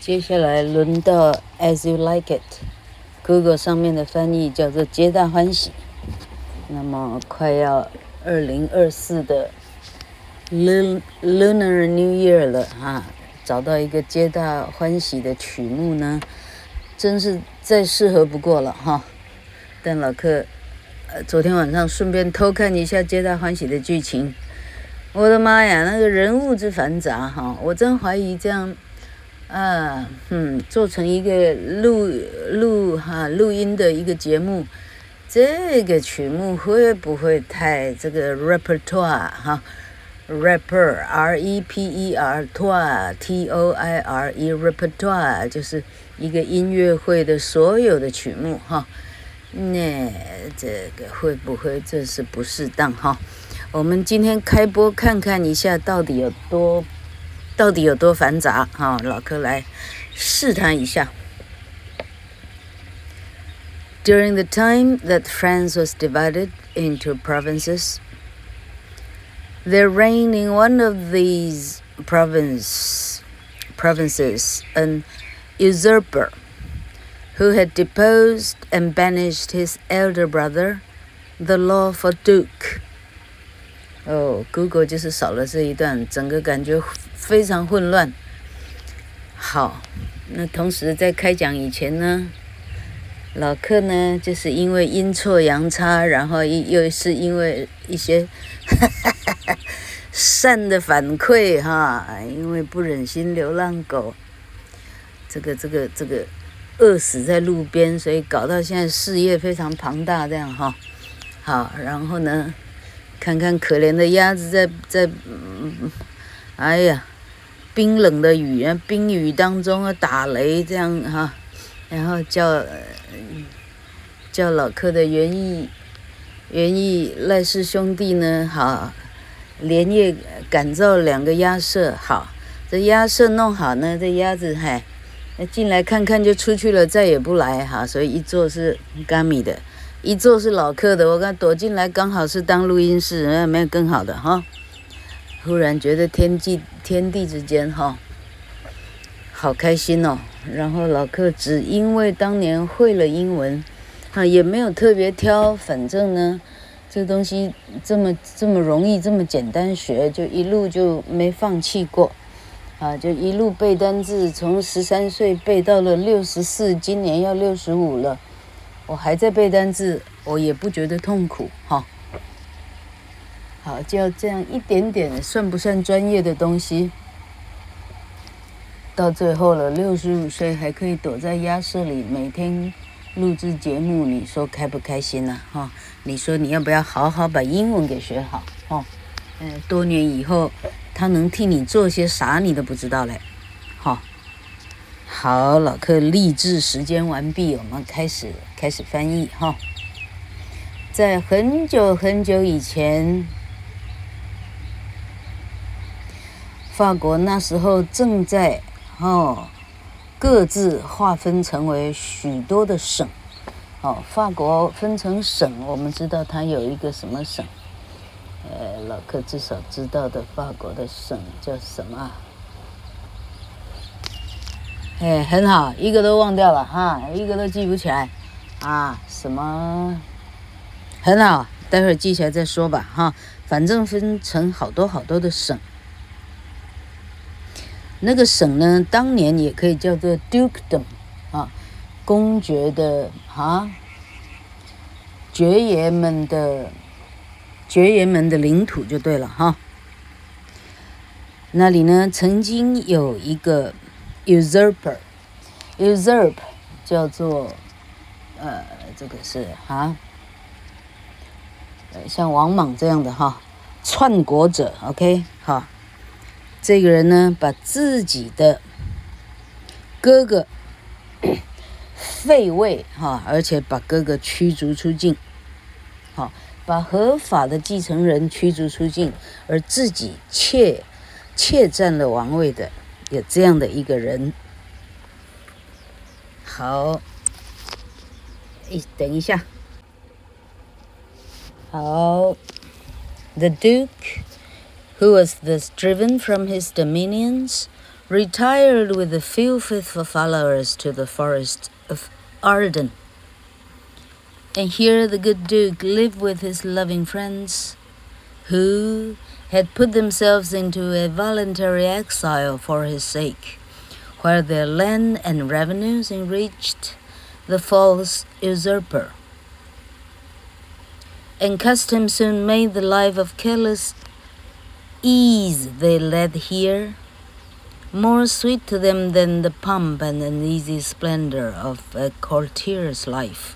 接下來輪到 As You Like It。Google 上面的翻譯叫做皆大歡喜。那麼快要2024的 Lunar New Year 了啊，找到一個皆大歡喜的曲目呢，真是再適合不過了哈。但老客昨天晚上順便偷看一下皆大歡喜的劇情，我的媽呀，那個人物之繁雜哈，我真懷疑這樣做成一個錄音的一個節目，這個曲目會不會太這個 repertoire 哈 rapper R-E-P-E-Rtoire T-O-I-R-E repertoire 就是一個音樂會的所有的曲目哈，那這個會不會這是不適當哈？我們今天開播看看一下到底有多繁雜哈，老柯來試探一下。During the time that France was divided into provinces, there reigned in one of these provinces an usurper who had deposed and banished his elder brother, the lawful duke. Google 就是少了這一段，整個感覺非常混亂。好，那同時在開講以前呢，老客呢就是因為陰錯陽差，然後又是因為一些善的反饋哈，因為不忍心流浪狗這個餓死在路邊，所以搞到現在事業非常龐大這樣哈。好，然後呢，看看可憐的鴨子在哎呀，冰冷的冰雨當中打雷這樣哈，然後叫老柯的園藝賴氏兄弟呢，好，連夜趕造2個鴨舍，好，這鴨舍弄好呢，這鴨子進來看看就出去了，再也不來哈，所以一座是嘎米的，一座是老客的，我剛躲進來剛好是當錄音室，沒有更好的哈。忽然覺得天地之間哈，好開心哦。然後老客只因為當年會了英文，也沒有特別挑，反正呢，這東西這麼容易，這麼簡單學，就一路就沒放棄過。就一路背單字，從13歲背到了64，今年要65了，我還在背單字，我也不覺得痛苦哈。好，就要這樣一點點，算不算專業的東西？到最後了，65歲還可以躲在鴨舍裡每天錄製節目，你說開不開心呢？哈，你說你要不要好好把英文給學好？哈，多年以後。他能替你做些啥，你都不知道嘞。好，老客立志時間完畢，我們開始翻譯哈。在很久很久以前，法國那時候正在各自劃分成為許多的省。法國分成省，我們知道它有一個什麼省。老客至少知道的法國的省叫什麼？很好，一個都忘掉了哈，一個都記不起來啊，什麼？很好，待會兒記起來再說吧哈。反正分成好多的省。那個省呢，當年也可以叫做 dukedom 啊，公爵的爵爺們的領土就對了哈。那裡呢，曾經有一個 usurp 叫做這個是像王莽這樣的哈，篡國者 ，OK 哈。這個人呢，把自己的哥哥廢位哈，而且把哥哥驅逐出境，好。把合法的繼承人驅逐出境，而自己竊佔了王位的，有這樣的一個人。好，等一下。好 ，The Duke, who was thus driven from his dominions, retired with a few faithful followers to the forest of Arden. And here the good Duke lived with his loving friends, who had put themselves into a voluntary exile for his sake, where their land and revenues enriched the false usurper. And custom soon made the life of careless ease they led here more sweet to them than the pomp and uneasy splendor of a courtier's life.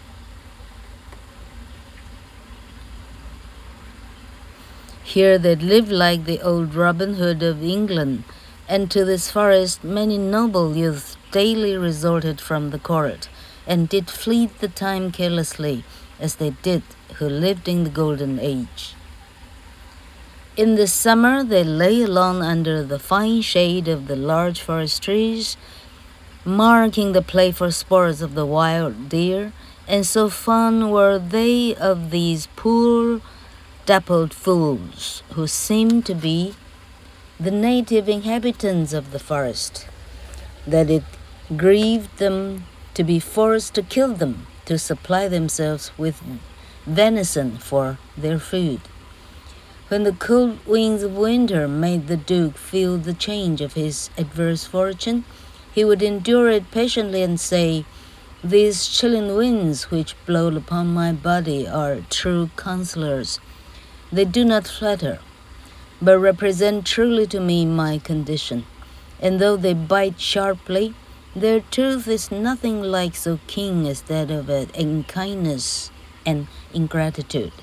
Here they lived like the old Robin Hood of England, and to this forest many noble youths daily resorted from the court, and did fleet the time carelessly, as they did who lived in the golden age. In the summer they lay alone under the fine shade of the large forest trees, marking the playful sports of the wild deer, and so fond were they of these poor dappled fools, who seemed to be the native inhabitants of the forest, that it grieved them to be forced to kill them, to supply themselves with venison for their food. When the cold winds of winter made the Duke feel the change of his adverse fortune, he would endure it patiently and say, "These chilling winds which blow upon my body are true counselors. They do not flatter, but represent truly to me my condition. And though they bite sharply, their tooth is nothing like so keen as that of unkindness and ingratitude.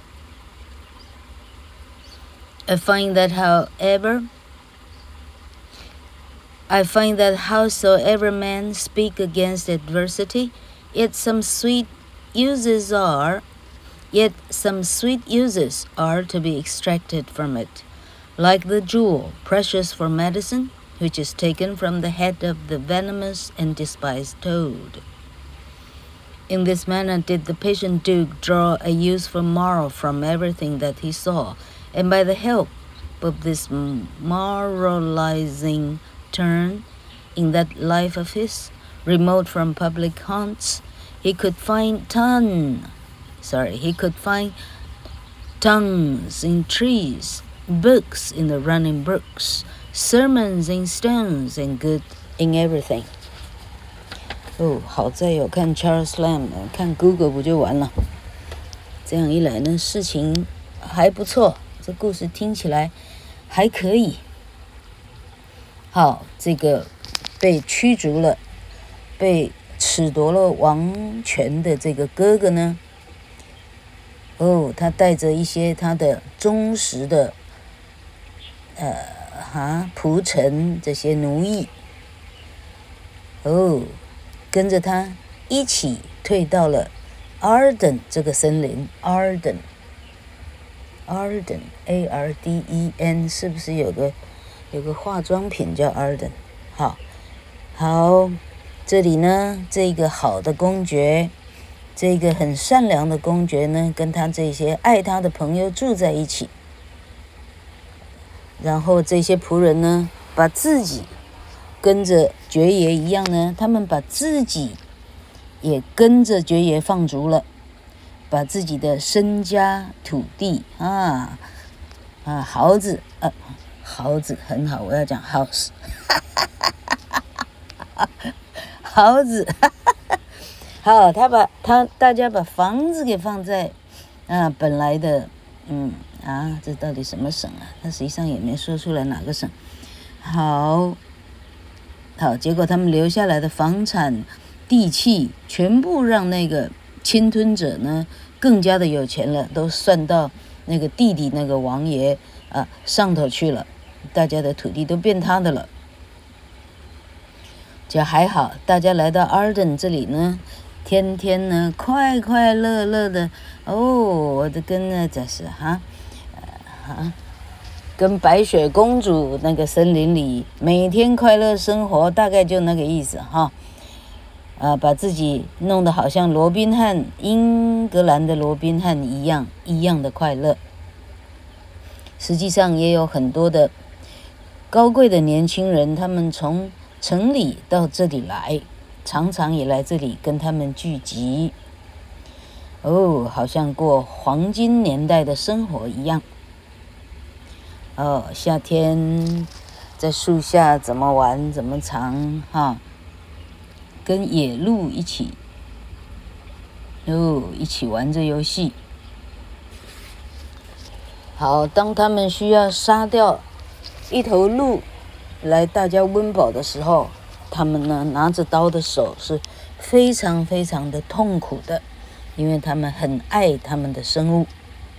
I find that howsoever men speak against adversity, yet some sweet uses are to be extracted from it, like the jewel, precious for medicine, which is taken from the head of the venomous and despised toad." In this manner did the patient Duke draw a useful moral from everything that he saw, and by the help of this moralizing turn in that life of his, remote from public haunts, he could find tongues in trees, books in the running brooks, sermons in stones, and good in everything. 好在有看 Charles Lamb， 看 Google 不就完了？这样一来呢，事情还不錯，這故事聽起來還可以。好，這個被驅逐了、被褫奪了王權的這個哥哥呢，他帶着一些他的忠實的僕臣，這些奴役，跟着他一起退到了 Arden 這個森林。 Arden A-R-D-E-N 是不是有個化妝品叫 Arden？ 好，這裡呢，這個好的公爵，這個很善良的公爵呢，跟他這些愛他的朋友住在一起。然後這些僕人呢，把自己跟着爵爺一樣呢，他們把自己也跟着爵爺放逐了，把自己的身家土地豪子很好，我要講 house 豪子好，大家把房子給放在本來的這到底什麼省啊？他實際上也沒說出來哪個省。好，結果他們留下來的房產地契全部讓那個侵吞者呢更加的有錢了，都算到那個弟弟那個王爺上頭去了，大家的土地都變他的了。就還好，大家來到 Arden 這裡呢，天天呢快快樂樂的我的跟那這是跟白雪公主那個森林裡每天快樂生活，大概就那個意思把自己弄得好像羅賓漢，英格蘭的羅賓漢一樣的快樂。實際上也有很多的高貴的年輕人，他們從城裡到這裡來，常常也來這裡跟他們聚集。哦，好像過黃金年代的生活一樣。哦，夏天在樹下怎麼玩怎麼藏哈，跟野鹿一起，一起玩着遊戲。好，當他們需要殺掉一頭鹿來大家溫飽的時候，他們呢拿着刀的手是非常非常的痛苦的，因為他們很愛他們的生物。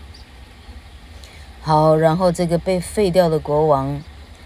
好，然後這個被廢掉的國王，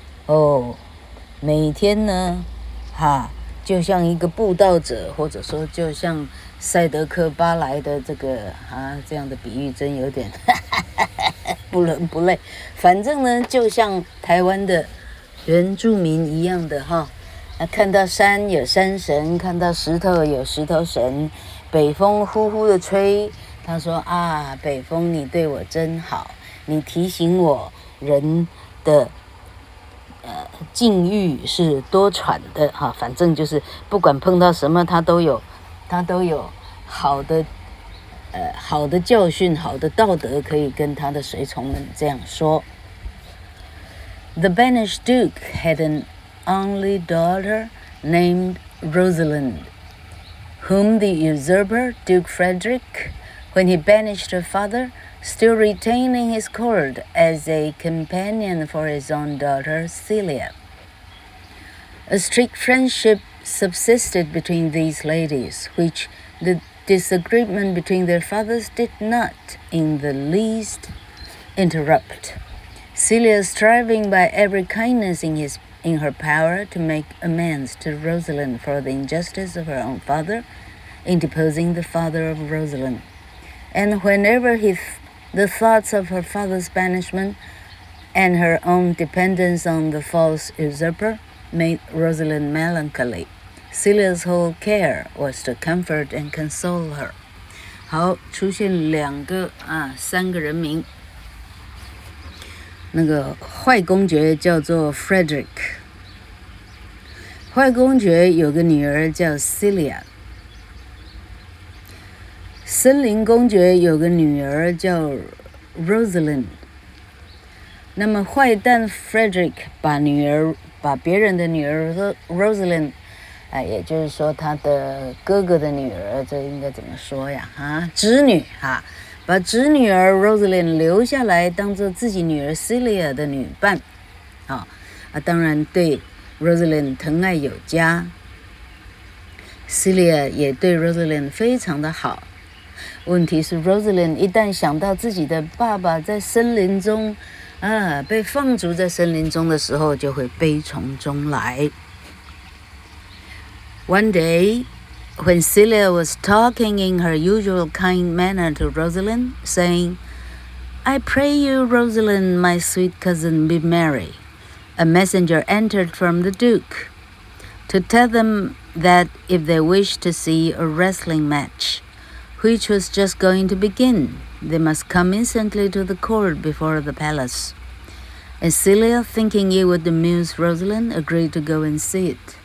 每天呢，就像一個布道者，或者說就像賽德克巴萊的這個這樣的比喻真有點不倫不類。反正呢，就像台灣的原住民一樣的看到山有山神，看到石頭有石頭神，北風呼呼的吹，他說北風你對我真好，你提醒我人的境遇是多舛的反正就是不管碰到什麼，他都有好的教訓，好的道德可以跟他的隨從們這樣說。The banished Duke had an only daughter named Rosalind, whom the usurper Duke Frederick, when he banished her father, still retaining his court as a companion for his own daughter Celia. A strict friendship subsisted between these ladies, which the disagreement between their fathers did not in the least interrupt. Celia striving by every kindness in her power to make amends to Rosalind for the injustice of her own father in deposing the father of Rosalind. And whenever the thoughts of her father's banishment and her own dependence on the false usurper made Rosalind melancholy, Celia's whole care was to comfort and console her. 好，出現三個人名。那個壞公爵叫做 Frederick， 壞公爵有個女兒叫 Celia， 森林公爵有個女兒叫 Rosalind。那麼壞蛋 Frederick 把別人的女兒 Rosalind， 也就是說他的哥哥的女兒，這應該怎麼說呀？侄女把侄女兒 Rosalind 留下來當做自己女兒 Celia 的女伴，當然對 Rosalind 疼愛有加， Celia 也對 Rosalind 非常的好。問題是 Rosalind 一旦想到自己的爸爸在森林中被放逐在森林中的時候，就會悲從中來。One day, when Celia was talking in her usual kind manner to Rosalind, saying, "I pray you, Rosalind, my sweet cousin, be merry," a messenger entered from the Duke to tell them that if they wished to see a wrestling match, which was just going to begin, they must come instantly to the court before the palace. And Celia, thinking it would amuse Rosalind, agreed to go and see it.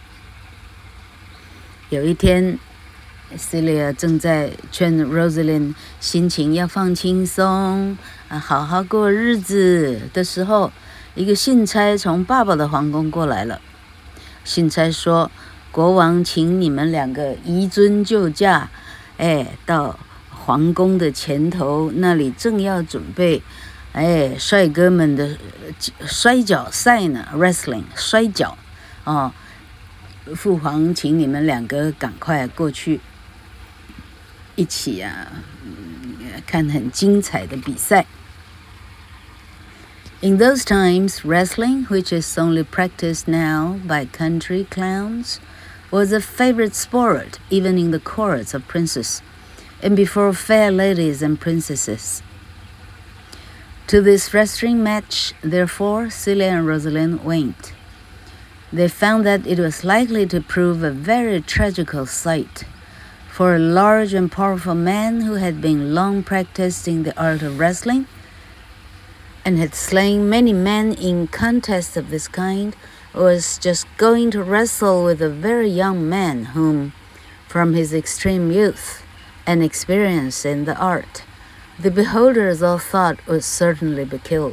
有一天 Celia 正在勸 Rosalind 心情要放輕鬆好好過日子的時候，一個信差從爸爸的皇宮過來了。信差說，國王請你們兩個移樽就駕，到皇宮的前頭，那裡正要準備帥哥們的摔跤賽呢 ，wrestling 摔跤父皇請你們兩個趕快過去一起看很精彩的比賽。In those times, wrestling, which is only practiced now by country clowns, was a favorite sport even in the courts of princes, and before fair ladies and princesses. To this wrestling match, therefore, Celia and Rosalind went. They found that it was likely to prove a very tragical sight, for a large and powerful man who had been long practiced in the art of wrestling and had slain many men in contests of this kind was just going to wrestle with a very young man whom, from his extreme youth and experience in the art, the beholders all thought would certainly be killed.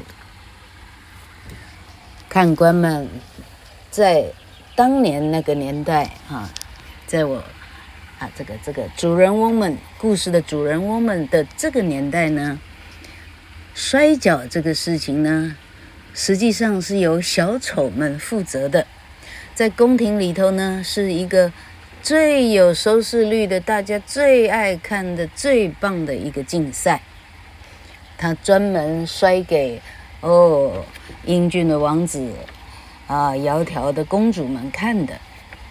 看官們在當年那個年代在我這個主人翁們故事的主人翁們的這個年代呢，摔跤這個事情呢，實際上是由小丑們負責的。在宮廷裡頭呢，是一個最有收視率的，大家最愛看的最棒的一個競賽。他專門摔給英俊的王子窈窕的公主們看的。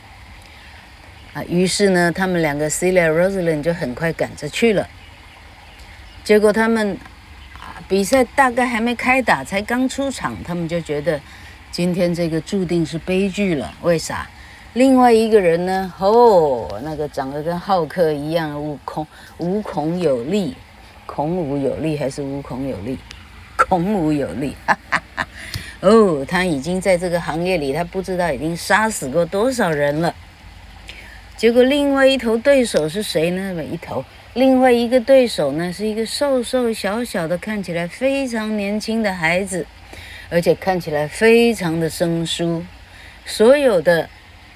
於是呢，他們兩個 Celia Rosalind 就很快趕着去了。結果他們比賽大概還沒開打，才剛出場，他們就覺得今天這個注定是悲劇了。為啥？另外一個人呢，那個長得跟浩克一樣，無孔有力，孔武有力還是無孔有力？孔武有力，他已經在這個行業裡，他不知道已經殺死過多少人了。結果另外一頭對手是誰呢？另外一個對手呢，是一個瘦瘦小小的，看起來非常年輕的孩子，而且看起來非常的生疏。所有的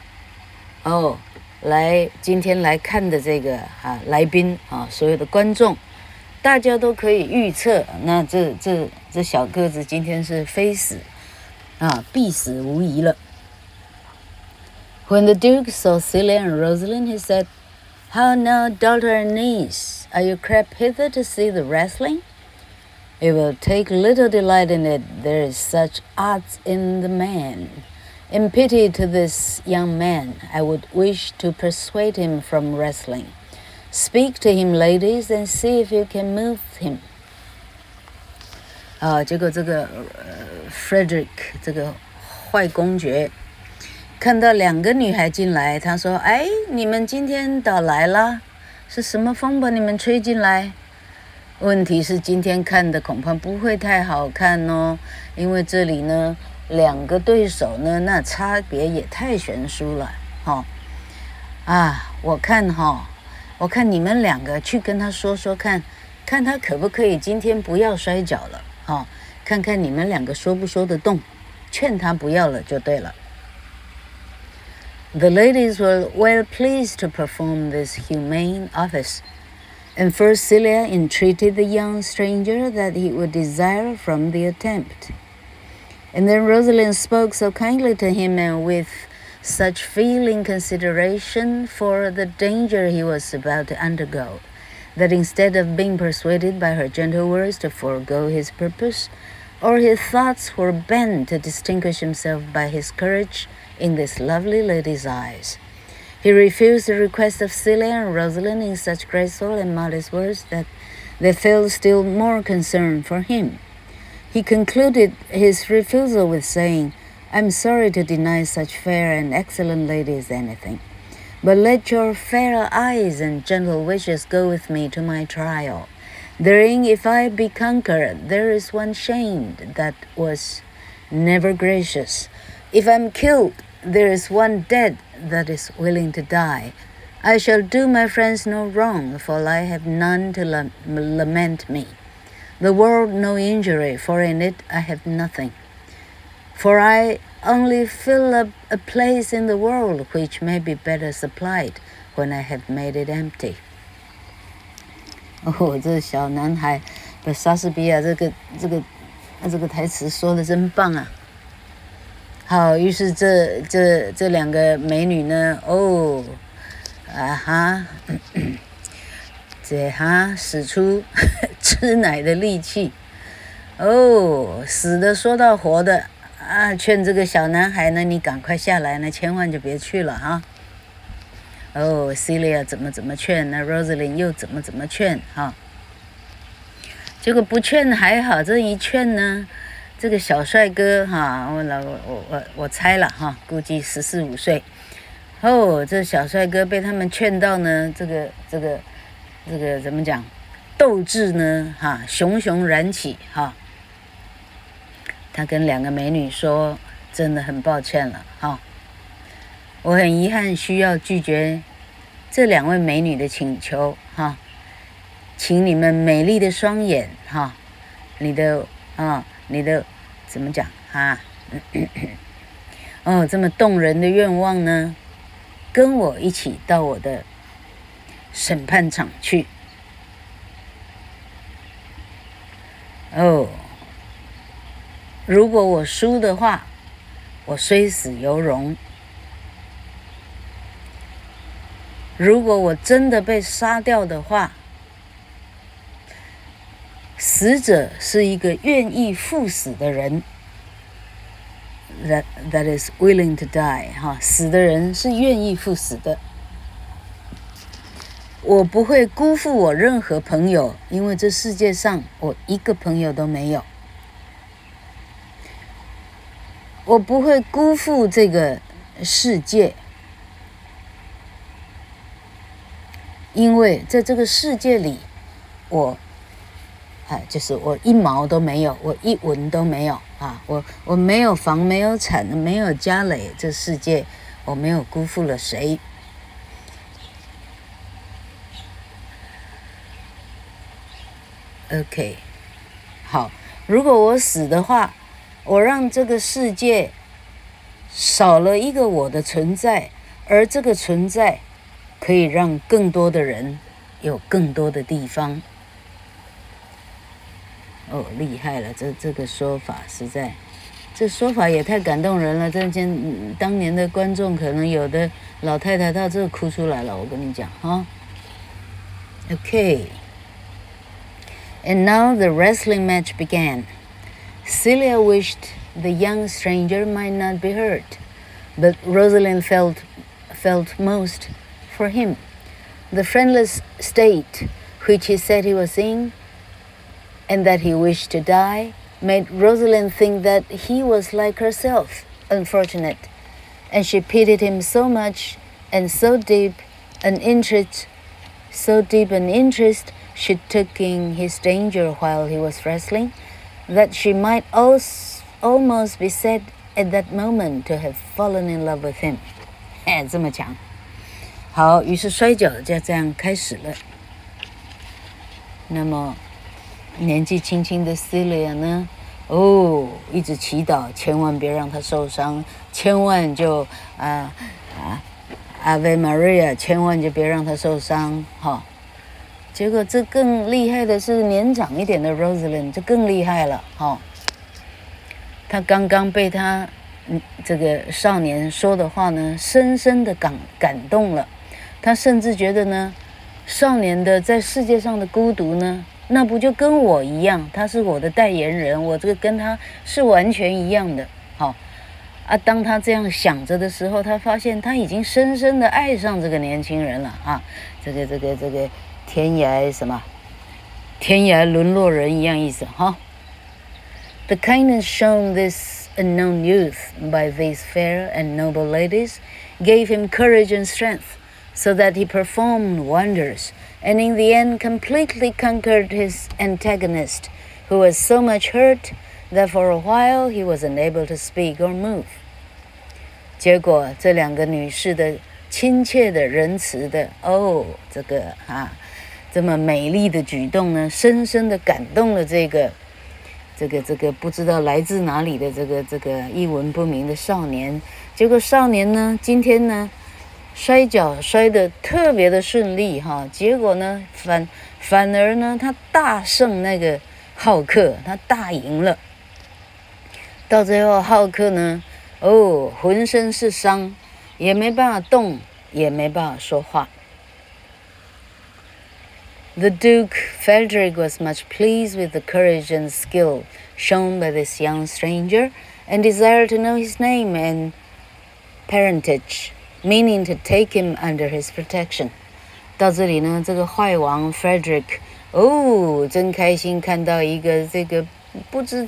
今天來看的這個來賓所有的觀眾，大家都可以預測，那這小個子今天是非死必死無疑了。When the Duke saw Celia and Rosalind, he said, "How now, daughter and niece, are you crept hither to see the wrestling? You will take little delight in it, there is such odds in the man. In pity to this young man, I would wish to persuade him from wrestling. Speak to him, ladies, and see if you can move him." 結果這個Frederick 這個壞公爵看到兩個女孩進來，他說：“你們今天倒來了，是什麼風把你們吹進來？問題是今天看的恐怕不會太好看哦，因為這裡呢，兩個對手呢，那差別也太懸殊了，我看你們兩個去跟他說說看，看他可不可以今天不要摔跤了，看看你們兩個說不說得動，勸他不要了就對了。” The ladies were well pleased to perform this humane office, and first Celia entreated the young stranger that he would desire from the attempt. And then Rosalind spoke so kindly to him and with such feeling consideration for the danger he was about to undergo, that instead of being persuaded by her gentle words to forego his purpose, or his thoughts were bent to distinguish himself by his courage in this lovely lady's eyes. He refused the request of Celia and Rosalind in such graceful and modest words that they felt still more concern for him. He concluded his refusal with saying, "I'm sorry to deny such fair and excellent ladies anything, but let your fair eyes and gentle wishes go with me to my trial. Therein, if I be conquered, there is one shamed that was never gracious. If I'm killed, there is one dead that is willing to die. I shall do my friends no wrong, for I have none to lament me. The world no injury, for in it I have nothing. For I only fill up a place in the world which may be better supplied when I have made it empty." 這小男孩把莎士比亞這個台詞說得真棒啊！好，於是這兩個美女呢，使出吃奶的力氣，死的說到活的勸這個小男孩呢，你趕快下來呢，千萬就別去了哈。Celia 怎麼勸，那 Rosalind 又怎麼勸哈。結果不勸還好，這一勸呢，這個小帥哥哈，我猜了哈，估計14、15歲。這小帥哥被他們勸到呢，這個怎麼講？鬥志呢熊熊燃起哈。他跟兩個美女說真的很抱歉了哈。我很遺憾需要拒絕這兩位美女的請求哈，請你們美麗的雙眼哈，你的怎麼講哈？這麼動人的願望呢，跟我一起到我的審判場去。如果我輸的話，我雖死猶榮。如果我真的被殺掉的話，死者是一個願意赴死的人。That is willing to die 哈，死的人是願意赴死的。我不會辜負我任何朋友，因為這世界上我一個朋友都沒有。我不會辜負這個世界，因為在這個世界裡，就是我一毛都沒有，我一文都沒有啊！我沒有房，沒有產，沒有家累，這世界我沒有辜負了誰。OK， 好，如果我死的話，我讓這個世界少了一個我的存在，而這個存在可以讓更多的人有更多的地方。厲害了，這個說法實在，這說法也太感動人了。當年的觀眾可能有的老太太到這哭出來了，我跟你講哈。Okay.And now the wrestling match began. Celia wished the young stranger might not be hurt, but Rosalind felt most for him. The friendless state which he said he was in, and that he wished to die, made Rosalind think that he was like herself, unfortunate, and she pitied him so much and so deep an interest she took in his danger while he was wrestling, that she might almost be said at that moment to have fallen in love with him. 這麼強。好，於是摔跤就這樣開始了。那麼年紀輕輕的 Celia 呢？一直祈禱，千萬別讓他受傷，千萬就Ave Maria， 千萬就別讓他受傷，哈。結果這更厲害的是年長一點的 Rosalind， 就更厲害了，哈。他剛剛被他這個少年說的話呢，深深的感動了。他甚至覺得呢，少年的在世界上的孤獨呢，那不就跟我一樣？他是我的代言人，我這個跟他是完全一樣的，好。當他這樣想着的時候，他發現他已經深深的愛上這個年輕人了啊！這個天涯什麼？天涯淪落人一樣意思哈。The kindness shown this unknown youth by these fair and noble ladies gave him courage and strength, so that he performed wonders, and in the end completely conquered his antagonist, who was so much hurt that for a while he was unable to speak or move. 結果這兩個女士的親切的仁慈的這麼美麗的舉動呢，深深的感動了這個不知道來自哪裡的這個一文不名的少年。結果少年呢，今天呢摔跤摔得特別的順利哈，結果呢反而呢他大勝那個浩克，他大贏了。到最後浩克呢，渾身是傷，也沒辦法動，也沒辦法說話。The Duke Frederick was much pleased with the courage and skill shown by this young stranger, and desired to know his name and parentage, meaning to take him under his protection. 到這裡呢，這個壞王 Frederick， 真開心看到一個這個不知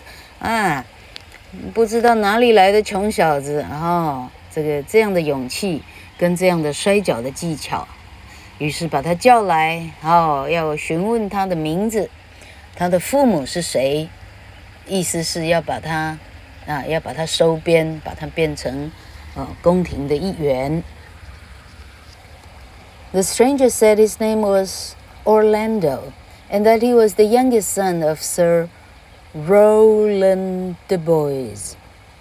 道哪裡來的窮小子這樣的勇氣跟這樣的摔跤的技巧。於是把他叫來，要詢問他的名字，他的父母是誰，意思是要把他啊，要把他收編，把他變成宮廷的一員。The stranger said his name was Orlando, and that he was the youngest son of Sir Rowland de Boys.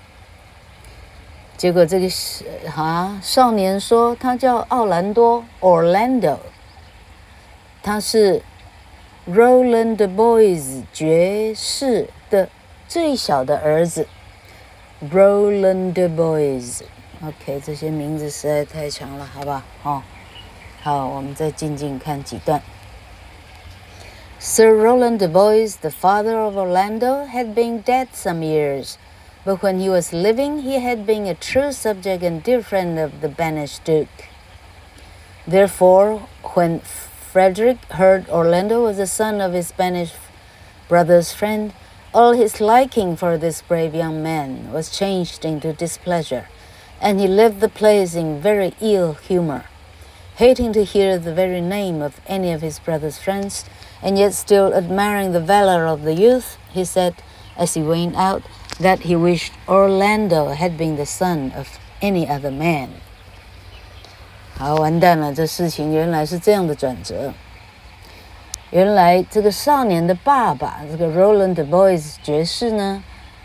結果這個少年說他叫奧蘭多 Orlando， 他是 Rowland de Boys 爵士的最小的兒子。Rowland de Boys。OK， 這些名字實在太長了，好不好？好，我們再靜靜看幾段。Sir Rowland de Boys, the father of Orlando, had been dead some years, but when he was living, he had been a true subject and dear friend of the banished Duke. Therefore, when Frederick heard Orlando was the son of his banished brother's friend, all his liking for this brave young man was changed into displeasure, and he left the place in very ill humor. Hating to hear the very name of any of his brother's friends, and yet still admiring the valor of the youth, he said, as he went out, that he wished Orlando had been the son of any other man. 好，完蛋了，這事情原來是這樣的轉折。原來這個少年的爸爸，這個 Rowland de Boys 爵士呢，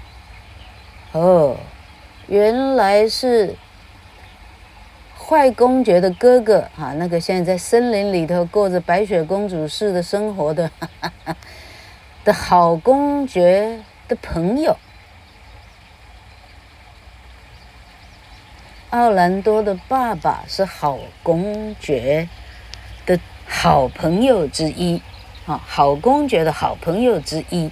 原來是壞公爵的哥哥啊，那個現在在森林裡頭過着白雪公主式的生活的好公爵的朋友。奧蘭多的爸爸是好公爵的好朋友之一，好公爵的好朋友之一。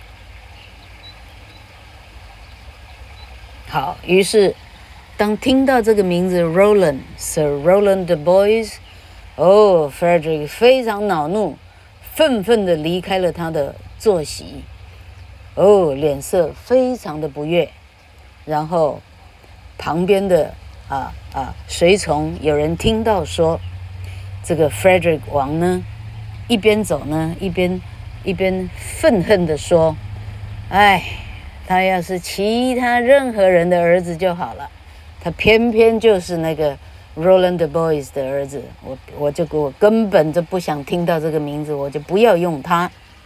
好，於是當聽到這個名字 Sir Rowland de Boys， Frederick 非常惱怒，憤憤地離開了他的坐席，臉色非常的不悅。然後旁邊的隨從有人聽到說，這個 Frederick 王呢，一邊走呢，一邊憤恨地說：“哎，他要是其他任何人的兒子就好了。”他偏偏就是那個 Rowland de Boys 的兒子，我根本就不想聽到這個名字，我就不要用他。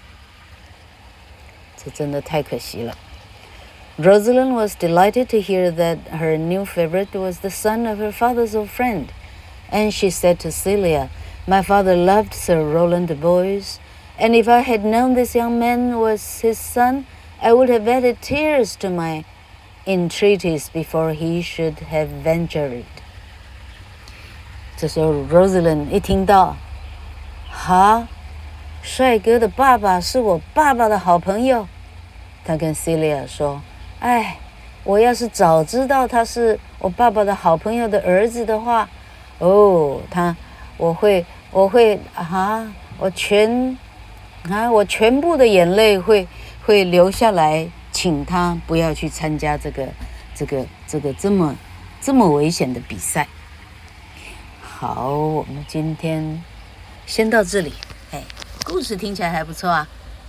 這真的太可惜了。Rosalind was delighted to hear that her new favorite was the son of her father's old friend, and she said to Celia, "My father loved Sir Rowland de Boys, and if I had known this young man was his son, I would have added tears to my entreaties before he should have ventured." 這時候 Rosalind 一聽到，帥哥的爸爸是我爸爸的好朋友，他跟 Celia 說：“哎，我要是早知道他是我爸爸的好朋友的兒子的話，我全部的眼淚會流下來，請他不要去參加這個這麼危險的比賽。”好，我們今天先到這裡。故事聽起來還不錯啊。